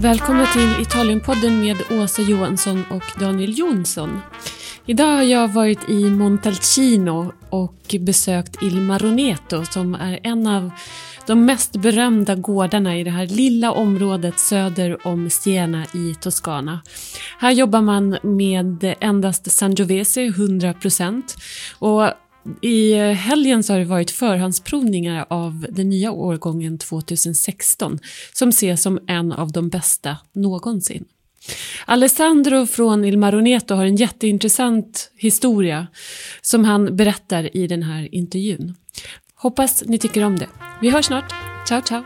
Välkomna till Italienpodden med Åsa Johansson och Daniel Jonsson. Idag har jag varit i Montalcino och besökt Il Maroneto som är en av de mest berömda gårdarna i det här lilla området söder om Siena i Toscana. Här jobbar man med endast Sangiovese 100%, och i helgen så har det varit förhandsprovningar av den nya årgången 2016 som ses som en av de bästa någonsin. Alessandro från Il Maroneto har en jätteintressant historia som han berättar i den här intervjun. Hoppas ni tycker om det. Vi hörs snart. Ciao, ciao!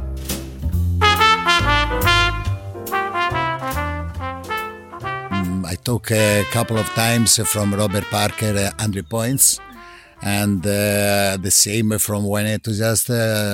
I took a couple of times from Robert Parker 100 points. And the same from Wine Enthusiast,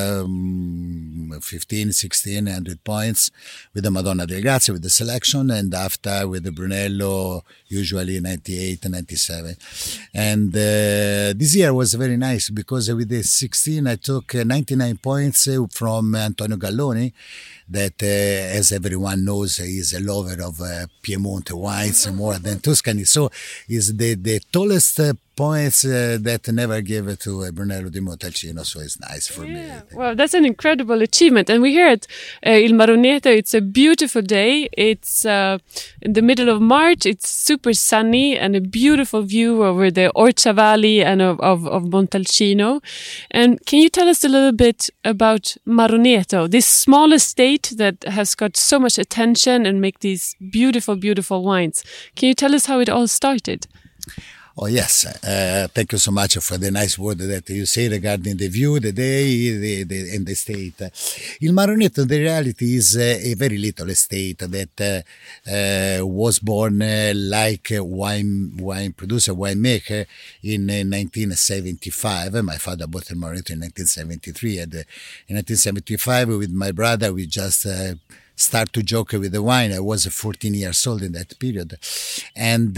15, 16, 100 points with the Madonna del Grazie, with the selection, and after with the Brunello, usually 98 and 97. And this year was very nice because with the 16 I took 99 points from Antonio Galloni, that as everyone knows is a lover of Piemonte wines more than Tuscany. So is the tallest points that never gave to Brunello di Montalcino, so it's nice for me. Well, that's an incredible achievement. And we're here at Il Maroneto. It's a beautiful day. It's in the middle of March. It's super sunny and a beautiful view over the Orcia Valley and of Montalcino. And can you tell us a little bit about Maroneto, this small estate that has got so much attention and make these beautiful, beautiful wines? Can you tell us how it all started? Oh, yes. Thank you so much for the nice word that you say regarding the view, the day, and the state. Il Maroneto, the reality, is a very little estate that was born like a wine producer, winemaker in 1975. My father bought Il Maroneto in 1973. And in 1975, with my brother, we just start to joke with the wine. I was 14 years old in that period. And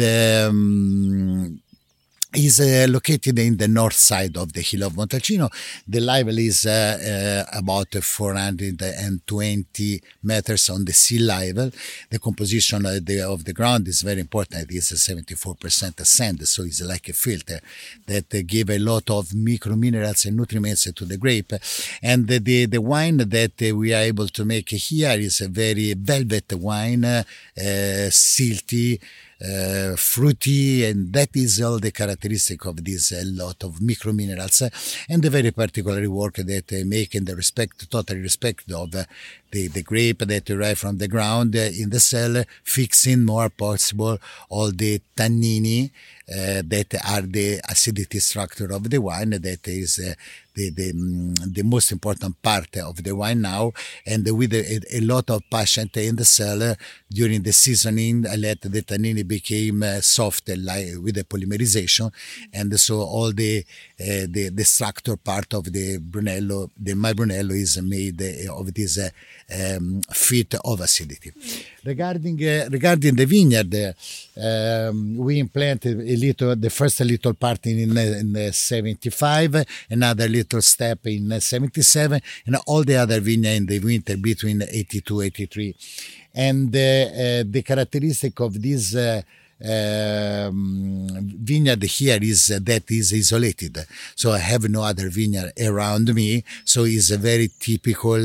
is located in the north side of the hill of Montalcino. The level is about 420 meters on the sea level. The composition of the ground is very important. It is 74% sand, so it's like a filter that give a lot of micro minerals and nutrients to the grape. And the wine that we are able to make here is a very velvet wine, silty, fruity, and that is all the characteristic of this lot of micro minerals and the very particular work that they make in the total respect of the grape that arrive from the ground in the cellar, fixing more possible all the tannini that are the acidity structure of the wine. That is the most important part of the wine now, and with a lot of passion in the cellar during the seasoning, I let the tannini became soft like with the polymerization, and so all the structure part of the Brunello, my Brunello is made of this fit of acidity. Regarding the vineyard, we implanted the first little part in 75, another little step in 77, and all the other vineyard in the winter between 82, 83. And the characteristic of this vineyard here is that is isolated. So I have no other vineyard around me. So it's a very typical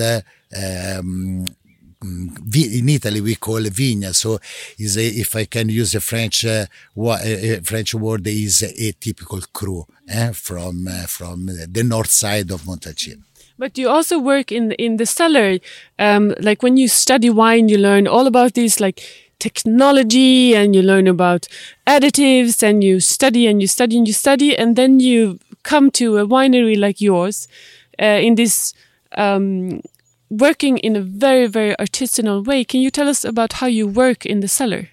in Italy we call vigna, so if I can use a French word, is a typical cru from the north side of Montalcino. But you also work in the cellar. Like when you study wine, you learn all about these like technology, and you learn about additives, and you study and you study and you study, and then you come to a winery like yours in this working in a very, very artisanal way. Can you tell us about how you work in the cellar?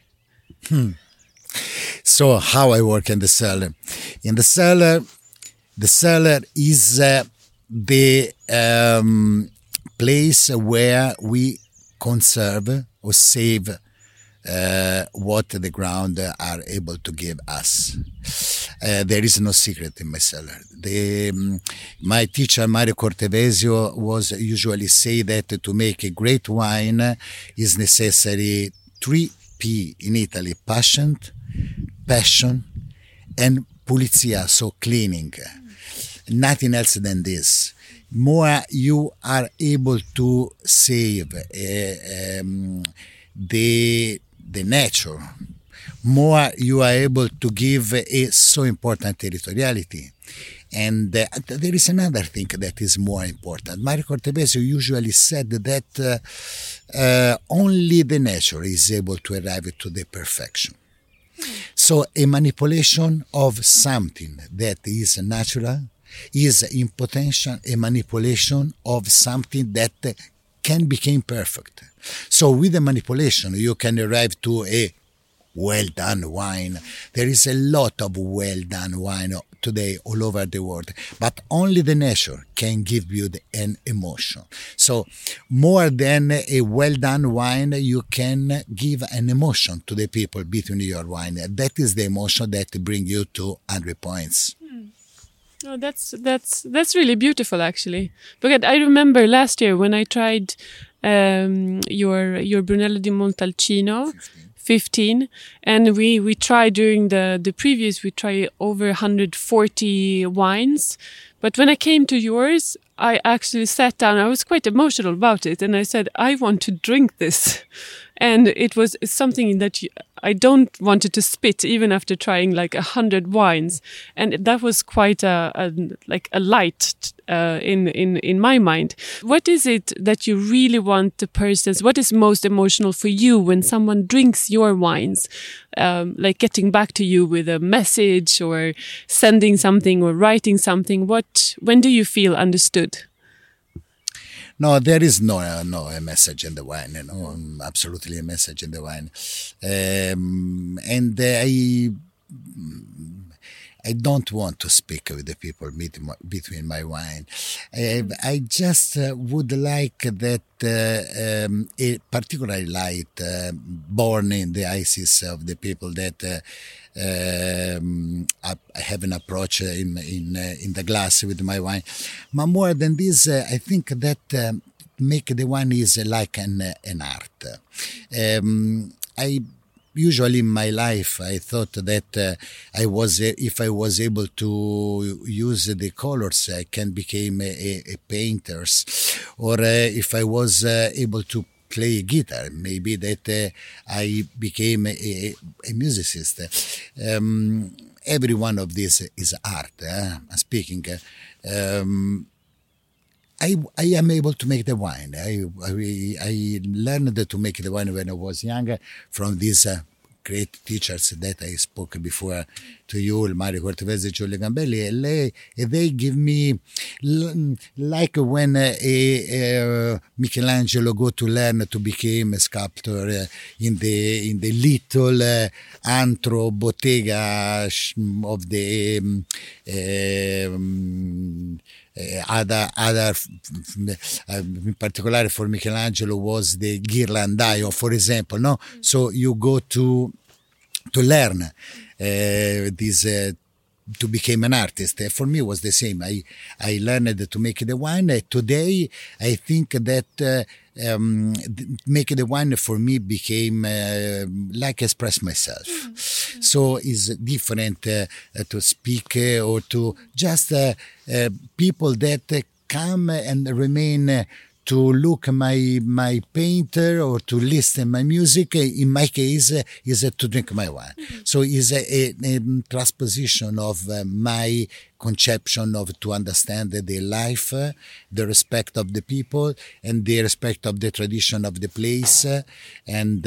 So how I work in the cellar? In the cellar is the place where we conserve or save what the ground are able to give us. There is no secret in my cellar. My teacher Mario Cortevesio was usually say that to make a great wine is necessary 3P in Italy: passion, and pulizia, so cleaning. Nothing else than this. More you are able to save the nature, more you are able to give a so important territoriality. And there is another thing that is more important. Mario Cortevesio usually said that only the nature is able to arrive to the perfection. So a manipulation of something that is natural is in potential a manipulation of something that can become perfect. So with the manipulation, you can arrive to a well-done wine. There is a lot of well-done wine today all over the world, but only the nature can give you an emotion. So more than a well-done wine, you can give an emotion to the people between your wine. That is the emotion that brings you to 100 points. Oh, that's really beautiful, actually. Because I remember last year when I tried your Brunello di Montalcino 15, and we tried during the previous, we tried over 140 wines. But when I came to yours, I actually sat down. I was quite emotional about it, and I said, I want to drink this. And it's something that I don't wanted to spit even after trying like 100 wines. And that was quite a light in my mind. What is it that you really want the persons? What is most emotional for you when someone drinks your wines? Like getting back to you with a message or sending something or writing something. When do you feel understood? No, there is no a message in the wine. Absolutely a message in the wine, and I don't want to speak with the people between my wine. I just would like that a particular light born in the eyes of the people that I have an approach in the glass with my wine. But more than this, I think that make the wine is like an art. I usually in my life I thought that if I was able to use the colors, I can become a painter, or if I was able to play guitar, maybe that I became a musicist. Every one of these is art. Speaking, I am able to make the wine. I learned to make the wine when I was younger from these great teachers that I spoke before to you, Mario Cortevesio, Giulio Gambelli, and they give me, like when Michelangelo go to learn to become a sculptor in the little antro bottega of the other in particular for Michelangelo was the Ghirlandaio, for example, no? So you go to learn this to become an artist. For me, it was the same. I learned to make the wine. Today, I think that making the wine for me became like express myself. So it's different to speak or to just people that come and remain to look my painter or to listen my music. In my case, is to drink my wine. So it's a transposition of my conception of to understand the life, the respect of the people, and the respect of the tradition of the place, and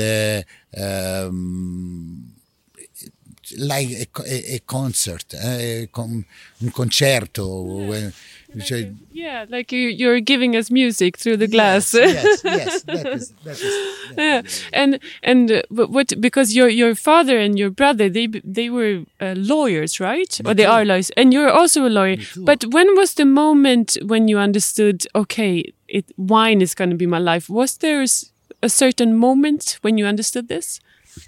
like a concert, un concerto. Yeah, like you're giving us music through the glass. Yes, that is. Yeah. And what, because your father and your brother, they were lawyers, right? Or they are lawyers, and you're also a lawyer. But when was the moment when you understood, okay, wine is going to be my life? Was there a certain moment when you understood this?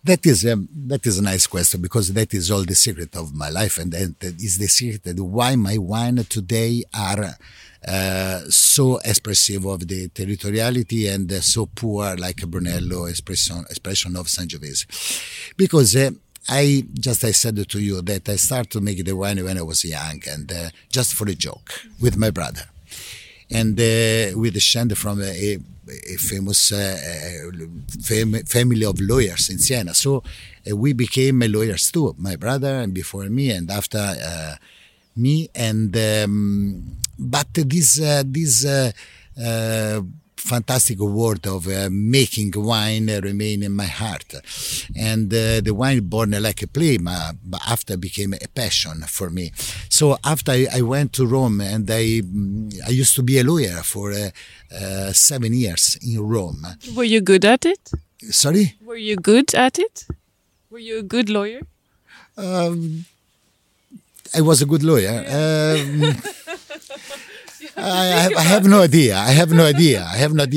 That is a nice question, because that is all the secret of my life, and that is the secret why my wine today are so expressive of the territoriality and so poor like Brunello expression of Sangiovese, because I said to you that I started to make the wine when I was young, and just for a joke with my brother, and we descend from a famous family of lawyers in Siena. So we became lawyers too, my brother, and before me, and after me. And but this fantastic word of making wine remain in my heart, and the wine born like a play, but after became a passion for me. So after I went to Rome, and I used to be a lawyer for 7 years in Rome. Were you good at it? Sorry? Were you good at it? Were you a good lawyer? I was a good lawyer. I have no idea. I have no idea.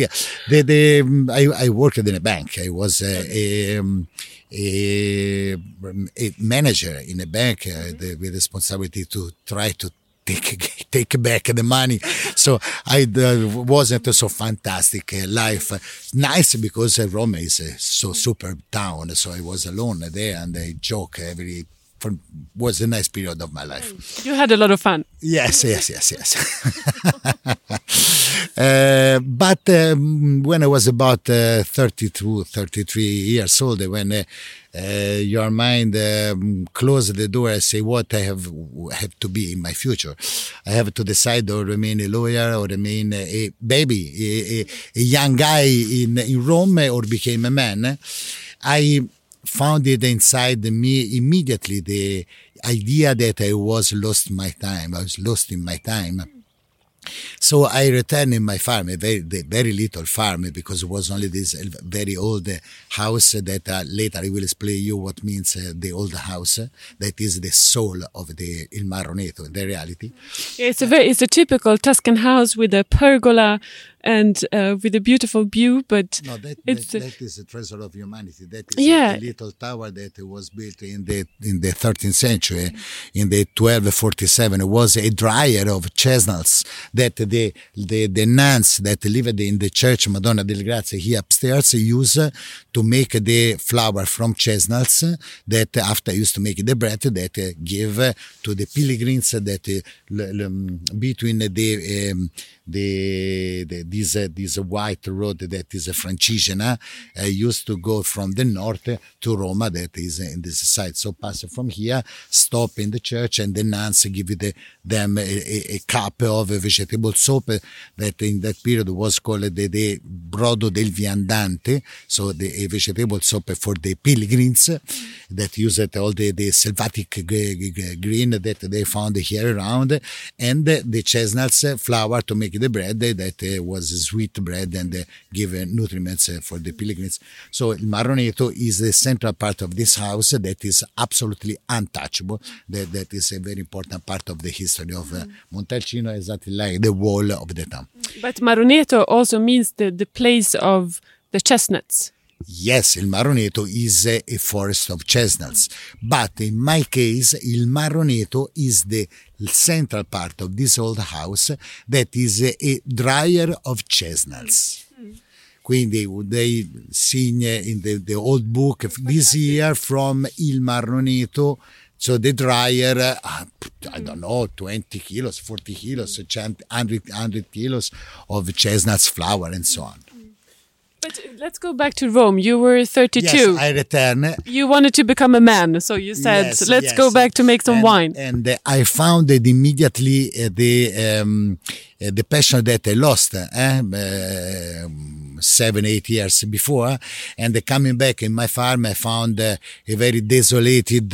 I worked in a bank. I was a manager in a bank with responsibility to try to take back the money. So I wasn't so fantastic life. Nice, because Rome is a so super town. So I was alone there, and I joke was a nice period of my life. You had a lot of fun. Yes. But when I was about 32, 33 years old, when your mind closed the door and say, what I have to be in my future. I have to decide or remain a lawyer or remain a baby, a young guy in Rome, or became a man. I found it inside me immediately, the idea that I was lost in my time. So I returned in my farm, a very little farm, because it was only this very old house that later I will explain you what means the old house. That is the soul of the Il Marroneto, in the reality. It's a typical Tuscan house with a pergola and with a beautiful view, but no, that is a treasure of humanity. That is a little tower that was built in the 13th century, in the 1247. It was a dryer of chestnuts that the nuns that lived in the church Madonna delle Grazie here upstairs used to make the flour from chestnuts that after used to make the bread that give to the pilgrims that between this white road that is a Francigena used to go from the north to Roma, that is in this side. So pass from here, stop in the church, and the nuns give them a cup of vegetable soup that in that period was called the brodo del viandante, so a vegetable soup for the pilgrims that used all the selvatic green that they found here around, and the chestnuts flour to make the bread that was sweet bread and give nutrients for the pilgrims. So Il Marroneto is the central part of this house that is absolutely untouchable. That is a very important part of the history of Montalcino, exactly like the wall of the town. But Marroneto also means the place of the chestnuts. Yes, Il Marroneto is a forest of chestnuts, but in my case, Il Marroneto is the central part of this old house that is a dryer of chestnuts. Quindi they sing in the old book this year from Il Marroneto. So the dryer, I don't know, 20 kilos, 40 kilos, 100 kilos of chestnuts flour and so on. But let's go back to Rome. You were 32. Yes, I returned. You wanted to become a man, so you said, let's go back to make some wine. And I found it immediately the passion that I lost 7-8 years before, and coming back in my farm, I found a very desolated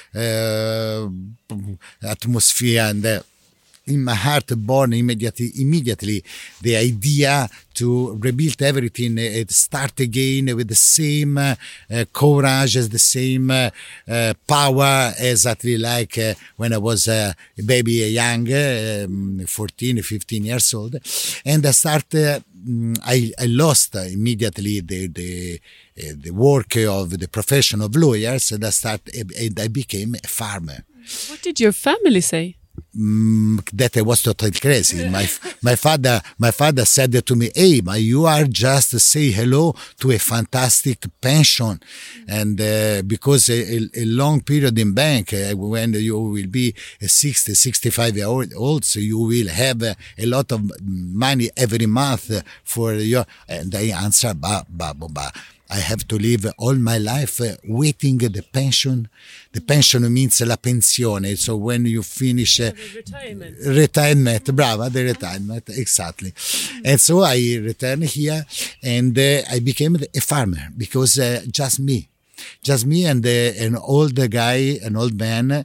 atmosphere, and in my heart born immediately the idea to rebuild everything, start again with the same courage, as the same power, exactly like when I was a baby, young, 14, 15 years old. And I started I lost immediately the work of the profession of lawyers, and I became a farmer. What did your family say? That I was totally crazy. My father said to me, "Hey, you are just say hello to a fantastic pension, and because a long period in bank, when you will be 60, 65 years old, so you will have a lot of money every month for your." And I answered, "Bah. I have to live all my life waiting the pension." The pension means la pensione. So when you finish retirement, brava, the retirement, exactly. And so I returned here, and I became a farmer because just me and an old man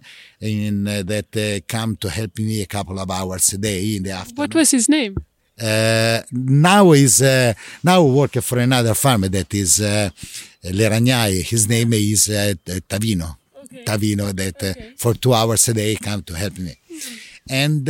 that come to help me a couple of hours a day in the afternoon. What was his name? Now work for another farmer that is Leragnai. His name is Tavino. Okay. Tavino that for 2 hours a day come to help me. And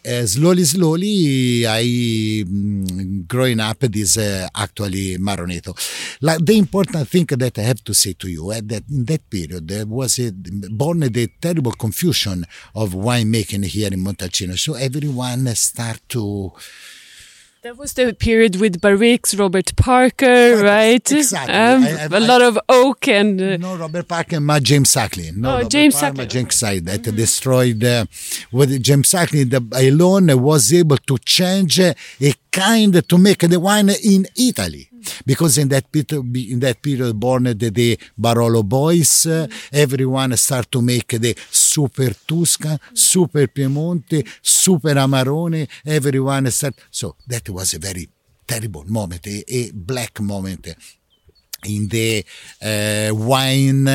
slowly, I growing up is actually Maroneto. Like the important thing that I have to say to you that in that period there was born the terrible confusion of winemaking here in Montalcino. So everyone start to. That was the period with Barriques, Robert Parker, right? Exactly. A lot of oak and... No, Robert Parker, but James Sacklin. James Sacklin. James Sacklin that destroyed... with James Sacklin alone was able to change a kind to make the wine in Italy. Because in that period born the Barolo boys, everyone start to make the super Tuscan, super Piemonte, super Amarone, everyone start. So that was a very terrible moment, a black moment in the wine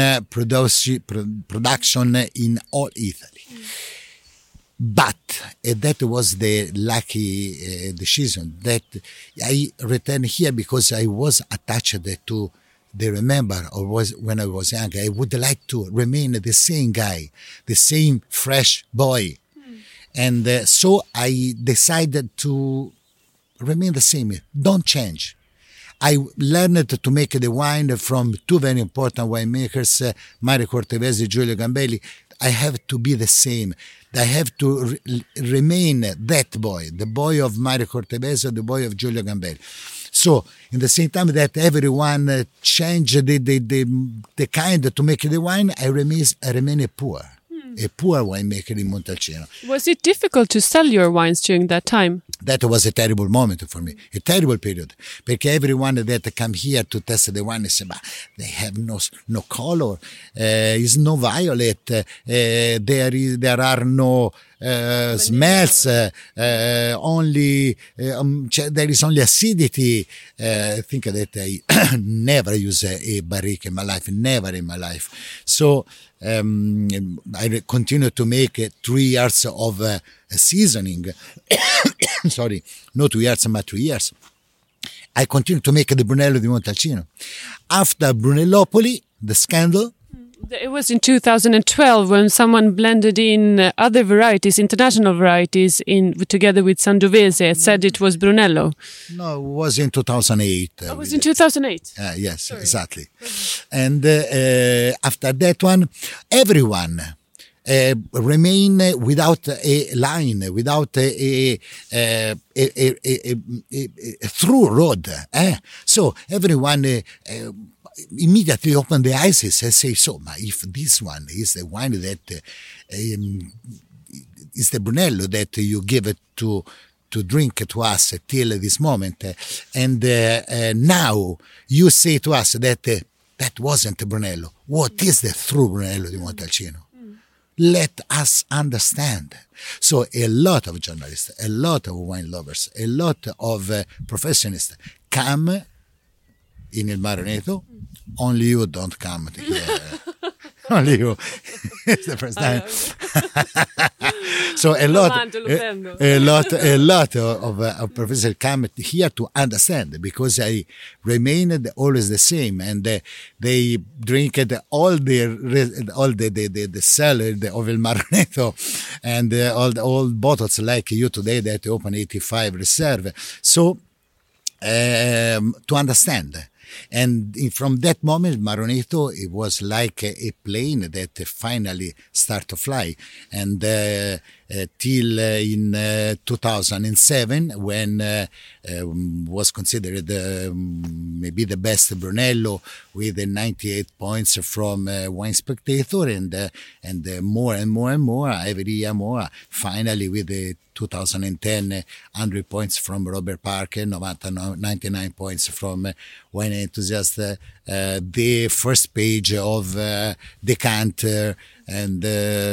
production in all Italy. But that was the lucky decision that I returned here because I was attached to the remember or was when I was young. I would like to remain the same guy, the same fresh boy. And so I decided to remain the same, don't change. I learned to make the wine from two very important winemakers, Mario Cortevesi, Giulio Gambelli. I have to be the same. I have to remain that boy, the boy of Mario Cortevesi, the boy of Giulio Gambelli. So, in the same time that everyone changed the kind to make the wine, I remain a poor winemaker in Montalcino. Was it difficult to sell your wines during that time? That was a terrible moment for me, a terrible period. Because everyone that come here to test the wine say, but they have no color, is no violet, there are no smells, only there is only acidity. I think that I never use a barrique in my life, never in my life. So I continue to make 3 years of seasoning. Sorry, not 2 years, but 3 years. I continue to make the Brunello di Montalcino. After Brunellopoli, the scandal. It was in 2012 when someone blended in other varieties, international varieties, together with Sangiovese. Said it was Brunello. No, it was in 2008. It was in 2008? Yes, sorry. Exactly. And after that one, everyone remain without a line, without a through road. So everyone immediately open the eyes and say, so if this one is the wine that is the Brunello that you give it to drink to us till this moment, and now you say to us that that wasn't Brunello. What is the true Brunello di Montalcino? Let us understand. So a lot of journalists, a lot of wine lovers, a lot of professionists come in Il Maroneto. Only you don't come here. Only you. It's the first time. So a lot of professors come here to understand, because I remained always the same, and they drink all the cellar of Il Maroneto, and all the old bottles like you today that open 85 reserve. So to understand. And from that moment, Maronetto, it was like a plane that finally started to fly. And till in 2007, when was considered maybe the best Brunello with 98 points from Wine Spectator, and more and more and more, every year more, finally with the 2010, 100 points from Robert Parker, 99 points from Wine Enthusiast, the first page of Decanter, and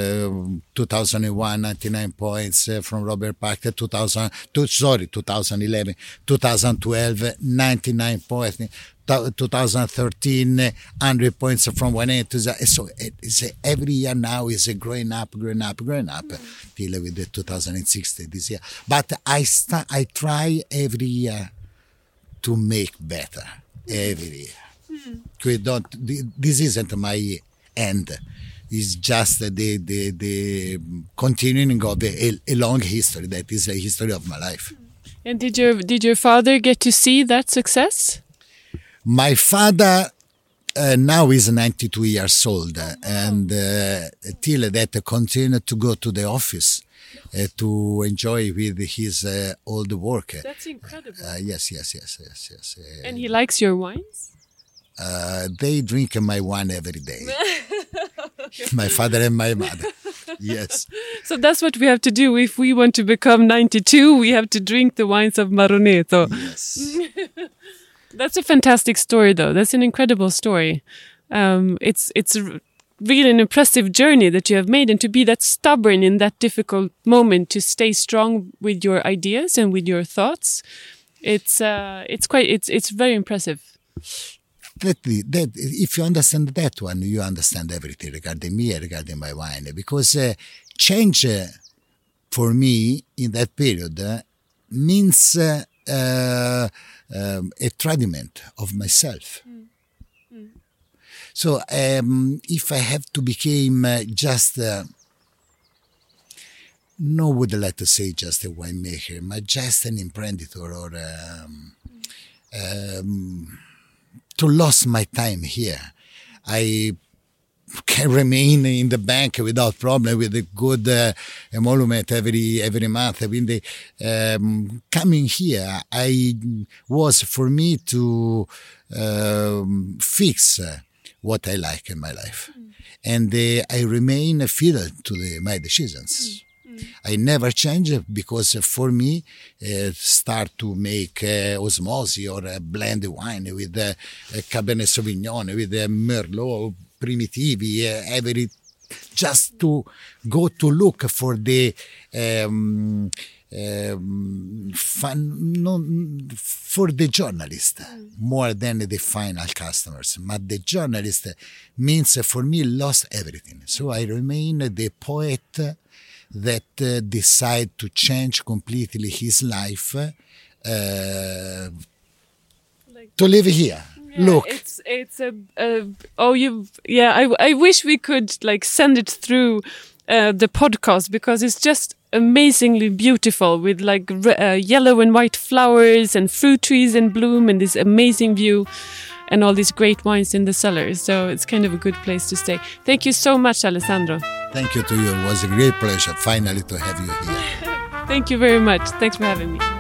2001, 99 points from Robert Parker, 2011, 2012, 99 points, 2013, 100 points from Wine Enthusiast. So it's every year now is growing up till with the 2016 this year. But I try every year to make better every year. This isn't my end. It's just the continuing of a long history that is a history of my life. And did your father get to see that success? My father now is 92 years old, and till that continued to go to the office to enjoy with his old work. That's incredible. Yes. And he likes your wines? They drink my wine every day. My father and my mother. Yes. So that's what we have to do. If we want to become 92, we have to drink the wines of Maronetto. Yes. That's a fantastic story, though. That's an incredible story. It's really an impressive journey that you have made, and to be that stubborn in that difficult moment, to stay strong with your ideas and with your thoughts. It's very impressive. That if you understand that one, you understand everything regarding me and regarding my wine. Because change for me in that period means a treatment of myself. So if I have to become just, no would like to say just a winemaker, but just an imprenditor or to lose my time here. I can remain in the bank without problem with a good emolument every month. I mean, coming here, was for me to fix what I like in my life. And I remain fidel to my decisions. I never change because for me, start to make osmosis or blend wine with Cabernet Sauvignon, with Merlot, Primitivi, just to go to look for the for the journalist more than the final customers. But the journalist means for me lost everything. So I remain the poet that decide to change completely his life to live here. Yeah, look, I wish we could like send it through the podcast, because it's just amazingly beautiful with like yellow and white flowers and fruit trees in bloom and this amazing view and all these great wines in the cellars. So it's kind of a good place to stay. Thank you so much, Alessandro. Thank you to you. It was a great pleasure finally to have you here. Thank you very much. Thanks for having me.